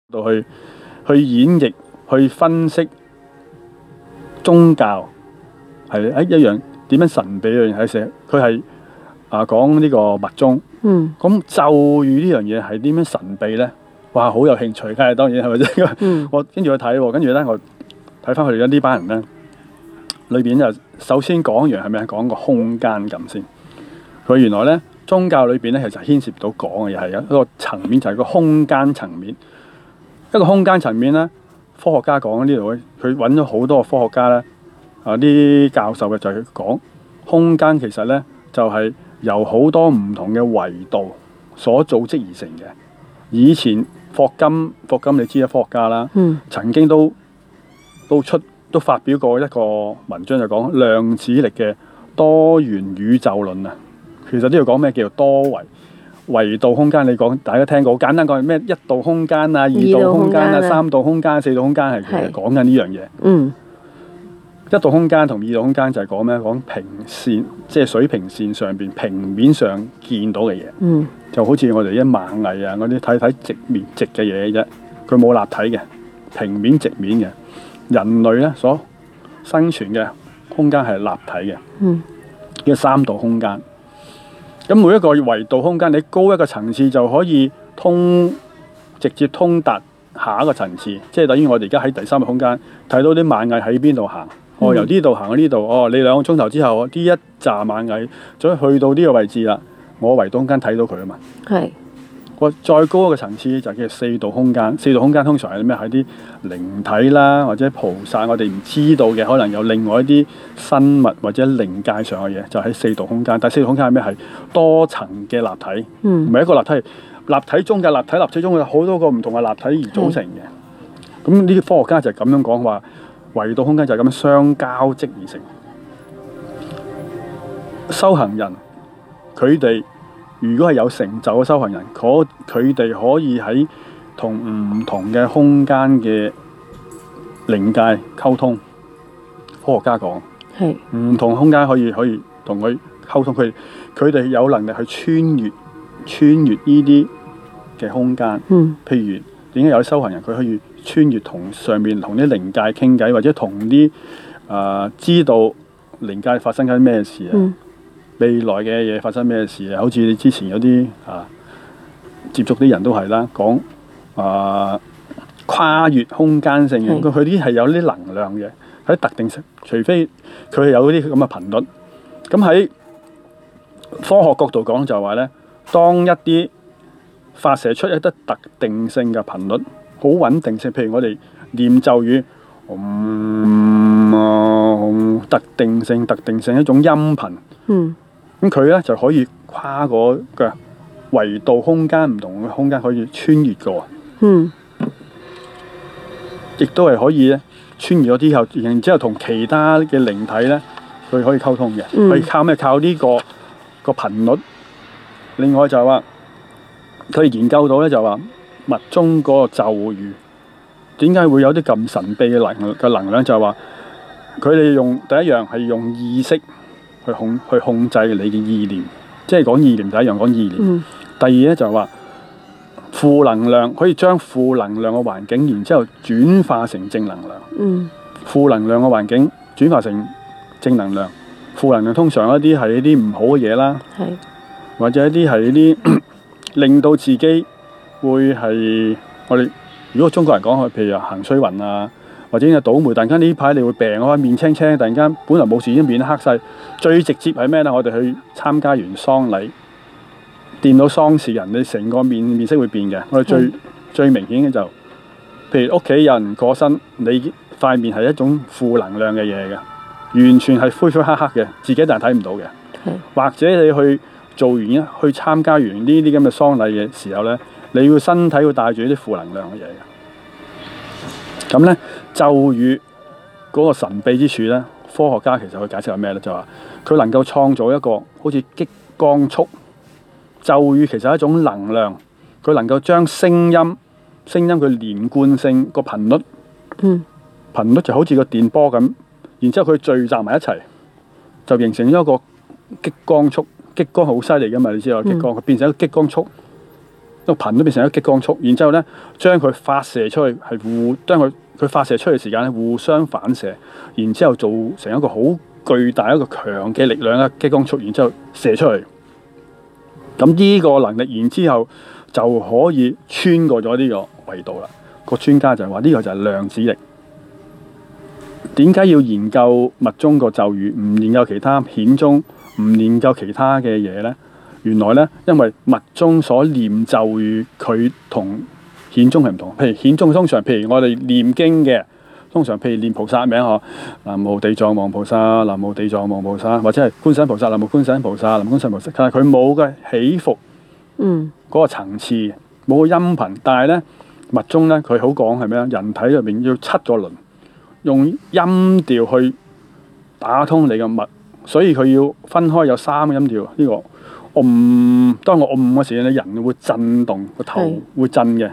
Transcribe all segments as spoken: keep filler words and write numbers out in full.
度去去演繹、去分析宗教係誒一樣點樣神秘嘅嘢喺寫，佢係啊講呢個密宗。 嗯。 咁咒語呢樣嘢係點樣神秘咧？哇，好有興趣，梗係當然係咪先？ 嗯。 我跟住去睇喎，跟住咧我睇翻佢哋呢班人咧，裏邊就首先講完係咪講個空間感先？佢原來咧宗教裏邊咧其實牽涉到講嘅嘢係一個層面，就係個空間層面。一個空間層面咧，科學家講呢度咧，佢揾咗好多個科學家咧，啊啲教授嘅就係講空間其實咧就係由好多唔同嘅維度所組織而成嘅。以前霍金，霍金你知啊，科學家啦， 嗯、 曾經都都出都發表過一個文章，就講量子力嘅多元宇宙論啊。其實呢度講咩叫做多維維度空間？你講大家聽過，好簡單講係咩？一度空間啊，二度空間啊，三度空間、四度空間係其實講緊呢樣嘢。 嗯， 一度空間同二度空間就係講咩？講平線，即係水平線上邊平面上見到嘅嘢。 嗯， 就好似我哋一螞蟻啊嗰啲睇睇直面直嘅嘢啫，佢冇立體嘅平面直面嘅。人類咧所生存嘅空間係立體嘅。 嗯， 叫三度空間。咁每一個維度空間，你高一個層次就可以通直接通達下一個層次，即係等於我哋而家喺第三個空間睇到啲螞蟻喺邊度行。哦，由呢度行到呢度，哦，你兩個鐘頭之後，呢一紮螞蟻再去到呢個位置啦，我維度空間睇到佢啊嘛。 係。 個再高一個層次就叫四度空間。四度空間通常係咩？係啲靈體啦，或者菩薩，我哋唔知道嘅，可能有另外一啲生物或者靈界上嘅嘢，就喺四度空間。但係四度空間係咩？係多層嘅立體，唔係、嗯、一個立體，立體中嘅立體，立體中有好多個唔同嘅立體而組成嘅。咁呢啲科學家就係咁樣講話，維度空間就係咁樣相交織而成。修行人佢哋如果係有成就嘅修行人，佢哋可以喺同唔同嘅空間嘅靈界溝通。科學家講，係唔同空間可以可以同佢溝通，佢佢哋有能力去穿越穿越呢啲嘅空間。嗯，譬如點解有啲修行人佢可以穿越同上面同啲靈界傾偈，或者同啲啊知道靈界發生緊咩事啊？嗯，未來嘅嘢發生咩事啊？好似你之前有啲啊接觸啲人都係啦，講啊跨越空間性嘅，佢啲係有啲能量嘅，喺特定，除非佢係有啲咁嘅頻率。咁喺科學角度講就係話咧，當一啲發射出一啲特定性嘅頻率，好穩定性，譬如我哋念咒語，嗯，嗯特定性、特定性一種音頻。嗯。咁佢咧就可以跨過嘅維度空間，唔同嘅空間可以穿越過。嗯，亦都係可以咧穿越咗之後，然之後同其他嘅靈體咧，佢可以溝通嘅。嗯，可以靠咩？靠呢個個頻率。另外就係話，佢哋研究到咧就話密宗嗰個咒語點解會有啲咁神秘嘅能嘅能量？就係話佢哋用第一樣係用意識。去控去控制你嘅意念，即係講意念第一樣講意念。嗯、第二咧就係話負能量可以將負能量嘅環境，然之後轉化成正能量。嗯、負能量嘅環境轉化成正能量。負能量通常一啲係一啲唔好嘅嘢啦，是或者一啲係一啲令到自己會係我哋如果中國人講，譬如行衰運啊。或者有倒霉，突然間呢排你會病啊，面青青，突然間本來冇事已經面黑晒。最直接係咩咧？我哋去參加完喪禮，見到喪事人，你成個面面色會變嘅。我哋最、嗯、最明顯嘅就，譬如屋企有人過身，你塊面係一種負能量嘅嘢嘅，完全係灰灰黑黑嘅，自己但係睇唔到嘅。嗯、或者你去做完一去參加完呢啲咁嘅喪禮嘅時候咧，你會身體會帶住啲負能量嘅嘢嘅。咁咧咒語嗰個神秘之處咧，科學家其實佢解釋係咩咧？就話佢能夠創造一個好似激光束。咒語其實係一種能量，佢能夠將聲音、聲音佢連貫性個頻率，嗯，頻率就好似個電波咁，然之後佢聚集埋一齊，就形成咗一個激光束。激光好犀利噶嘛？你知道激光，佢變成一個激光束， 個頻都變成一個激光束，然之後咧將佢發射出去係互將佢佢發射出去嘅時間咧互相反射，然之後造成一個好巨大一個強嘅力量嘅激光束，然之後射出去。咁呢個能力，然之後就可以穿過咗呢個維度啦。個專家就係話呢個就係量子力。點解要研究密宗個咒語，唔研究其他顯宗，唔研究其他嘅嘢呢？原來呢，因為密宗所念咒語，佢同顯宗係唔同。譬如顯宗通常，譬如我哋念經嘅，通常譬如念菩薩名嗬，南無地藏王菩薩，南無地藏王菩薩，或者係觀世音菩薩，南無觀世音菩薩，南無觀世音菩薩。但係佢冇嘅起伏，嗯，嗰個層次，冇個音頻。但係呢，密宗呢，佢好講係咩啊？人體入面要七個輪。用音調去打通你嘅脈，所以佢要分開有三個音調。呢、這個嗡，當我嗡嘅時候，你人會震動，個頭會震嘅。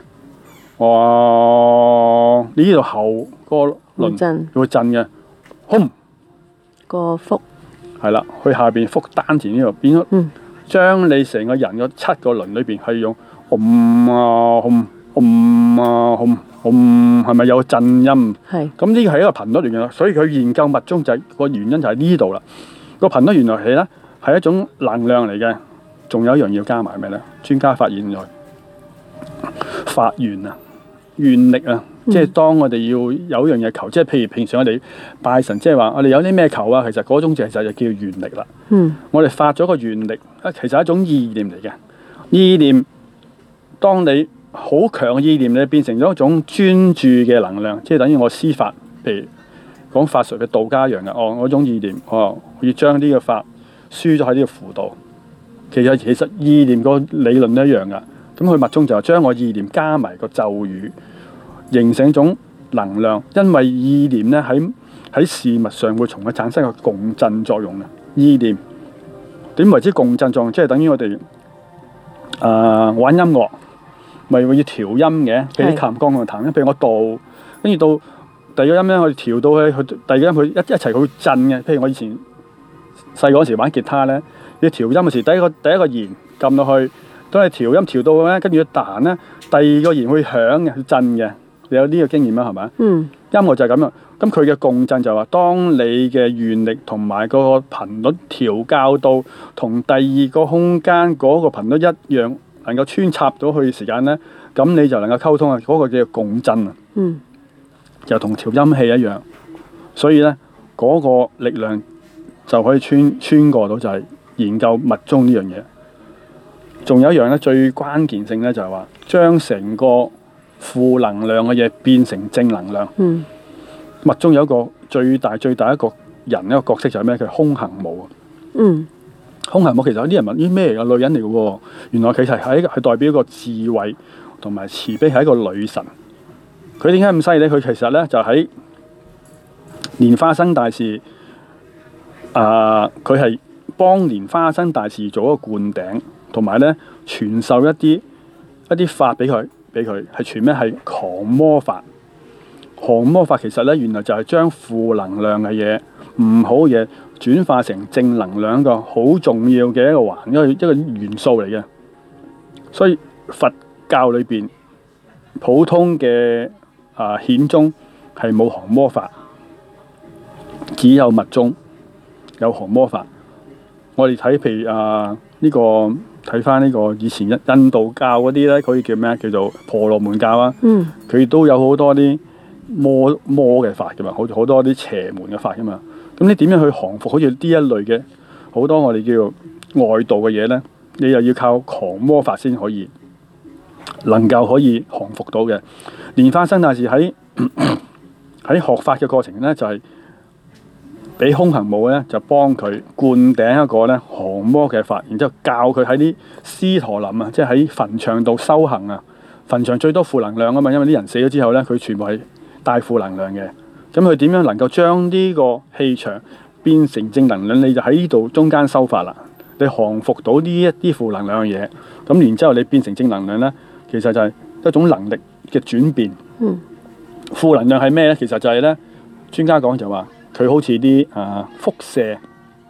哇！你呢度後個輪會震嘅，吽個腹係啦，去下邊腹丹田呢度變咗，嗯、將你成個人個七個輪裏邊係用嗡啊吽嗡啊吽。嗯，係咪有震音？係。咁呢個係一個頻率嚟嘅，所以佢研究密宗就係、是、個原因就喺呢度啦。個頻率原來係咧係一種能量嚟嘅，仲有一樣要加埋咩咧？專家發現咗發願啊、願力啊，嗯、即係當我哋要有一樣嘢求，即係譬如平常我哋拜神，即係話我哋有啲咩求啊，其實嗰種就係就叫願力啦。嗯。我哋發咗個願力啊，其實係一種意念嚟嘅。意念，當你好強嘅意念咧，變成咗一種專注嘅能量，即係等於我施法，譬如講法術嘅道家一樣嘅。哦，我種意念，哦，要將呢個法輸咗喺呢個符度。其實其實意念個理論都一樣噶。咁佢密宗就係將我意念加埋個咒語，形成一種能量。因為意念咧喺喺事物上會從佢產生個共振作用嘅。意念點為之共振作用？即係等於我哋啊、呃、玩音樂。咪會要調音嘅，譬如啲琴鋼同彈音，譬如我度，跟住到第二個音咧，我哋調到去，佢第二個音佢一一齊佢會震嘅。譬如我以前細個嗰時玩吉他咧，要調音嘅時，第一個第一個弦撳落去，當你調音調到咧，跟住彈咧，第二個弦會響嘅，震嘅。你有呢個經驗啦，係咪？嗯。音樂就係咁樣，咁佢嘅共振就係話，當你嘅願力同埋個頻率調校到同第二個空間嗰個頻率一樣。能夠穿插到去嘅時間咧，咁你就能夠溝通啊！嗰、那個叫共振啊，嗯、就同調音器一樣。所以咧，嗰、那個力量就可以穿穿過到，就係研究密宗呢樣嘢。仲有一樣咧，最關鍵性咧就係話，將成個負能量嘅嘢變成正能量。嗯、密宗有一個最大最大一個人一個角色就係咩？佢係空行母啊。嗯。空行母其實有啲人問啲咩嚟嘅？女人嚟嘅喎，原來其實係係代表一個智慧同埋慈悲，係一個女神。佢點解咁犀利？佢其實咧就喺蓮花生大士啊，佢、呃、係幫蓮花生大士做一個灌頂，同埋咧傳授一啲一啲法俾佢，俾佢係傳咩？係降魔法。降魔法其實咧原來就係將負能量嘅嘢、唔好嘢，轉化成正能量，一個好重要嘅一個環，一個一個元素嚟嘅。所以佛教裏邊普通嘅啊顯宗係冇降魔法，只有密宗有降魔法。我哋睇譬如啊呢、這個睇翻呢個以前印度教嗰啲咧，可以叫咩？叫做婆羅門教啊。嗯，佢都有好多啲魔魔嘅法噶嘛，好好多啲邪門嘅法噶嘛。咁你點樣去降服好似呢一類嘅好多我哋叫外道嘅嘢咧？你又要靠降魔法先可以能夠可以降服到嘅。蓮花生大士喺喺學法嘅過程咧，就係、是、俾空行母咧就幫佢灌頂一個咧降魔嘅法，然之後教佢喺啲屍陀林啊，即係喺墳場度修行啊。墳場最多負能量啊嘛，因為啲人死咗之後咧，佢全部係帶負能量嘅。咁佢點樣能夠將呢個氣場變成正能量？你就喺呢度中間修法啦。你降服到呢一啲負能量嘅嘢，咁然之後你變成正能量咧，其實就係一種能力嘅轉變。嗯。負能量係咩咧？其實就係咧，專家講就話佢好似啲啊輻射、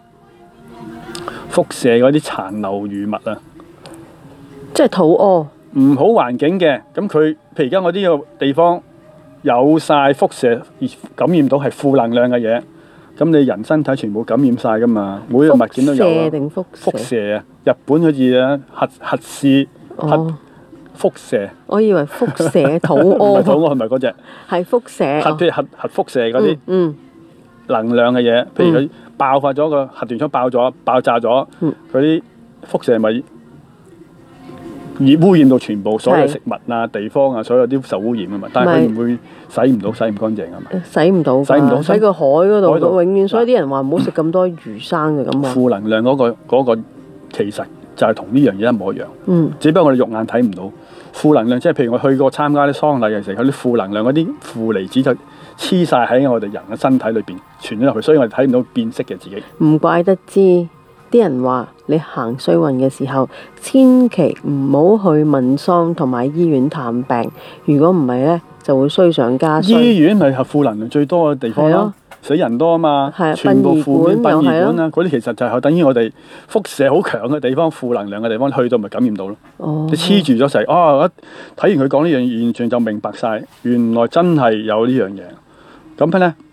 輻射嗰啲殘留餘物啊。 即係肚屙。 唔好環境嘅，咁佢譬如而家我呢個地方有晒輻射而感染到係負能量嘅嘢，咁你人身體全部感染晒噶嘛，每一個物件都有啊。 輻射定輻射？ 輻射啊！日本好似啊核核試核哦， 輻射， 我以為輻射肚唔係肚屙， 屙係咪嗰隻係輻射。 核譬如核核輻射嗰啲嗯能量嘅嘢，譬如佢爆發咗個核電廠爆咗爆炸咗， 嗯嗰啲輻射咪而污染到全部所有係食物啊、地方啊，所有啲受污染啊嘛。但係佢唔會洗唔到、洗唔乾淨啊嘛。 嗯，洗唔到㗎， 洗唔到喺個海嗰度海度永遠，所以啲人話唔好食咁多魚生嘅咁啊。 負能量嗰、個嗰、個其實就係同呢樣嘢一模一樣， 嗯只不過我哋肉眼睇唔到。負能量即係譬如我去過參加啲喪禮嘅時候，嗰啲負能量嗰啲負離子就黐晒喺我哋人嘅身體裏邊傳咗入去，所以我哋睇唔到變色嘅自己。 唔怪得知啲人話你行衰運嘅時候，千祈唔好去問喪同埋醫院探病。如果唔係呢，就會衰上加衰。 醫院咪係負能量最多嘅地方咯係咯， 死人多啊嘛係啊， 全部負面殯儀殯儀館又係館啊，嗰啲其實就係等於我哋輻射好強嘅地方，負能量嘅地方，去到咪感染到咯。 哦你黐住咗成，哦！一睇完佢講呢樣，完全就明白晒，原來真係有呢樣嘢。咁咧，